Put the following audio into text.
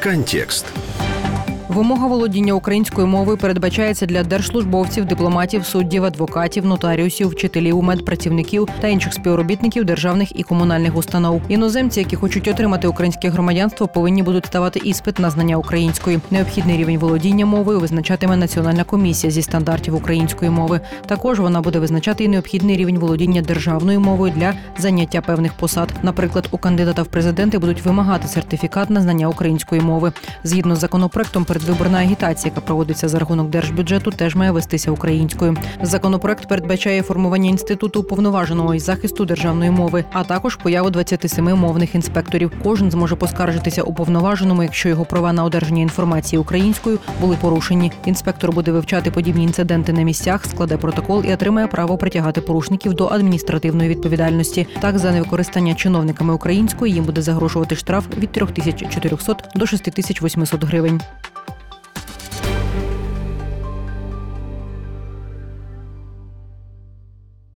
Контекст. Вимога володіння українською мовою передбачається для держслужбовців, дипломатів, суддів, адвокатів, нотаріусів, вчителів, медпрацівників та інших співробітників державних і комунальних установ. Іноземці, які хочуть отримати українське громадянство, повинні будуть ставати іспит на знання української. Необхідний рівень володіння мовою визначатиме Національна комісія зі стандартів української мови. Також вона буде визначати і необхідний рівень володіння державною мовою для заняття певних посад. Наприклад, у кандидата в президенти будуть вимагати сертифікат на знання української мови. Згідно з законопроектом, передвиборна агітація, яка проводиться за рахунок держбюджету, теж має вестися українською. Законопроект передбачає формування інституту уповноваженого із захисту державної мови, а також появу 27 мовних інспекторів. Кожен зможе поскаржитися уповноваженому, якщо його права на одержання інформації українською були порушені. Інспектор буде вивчати подібні інциденти на місцях, складе протокол і отримає право притягати порушників до адміністративної відповідальності. Так, за невикористання чиновниками української їм буде загрожувати штраф від 3400 до 6800 гривень.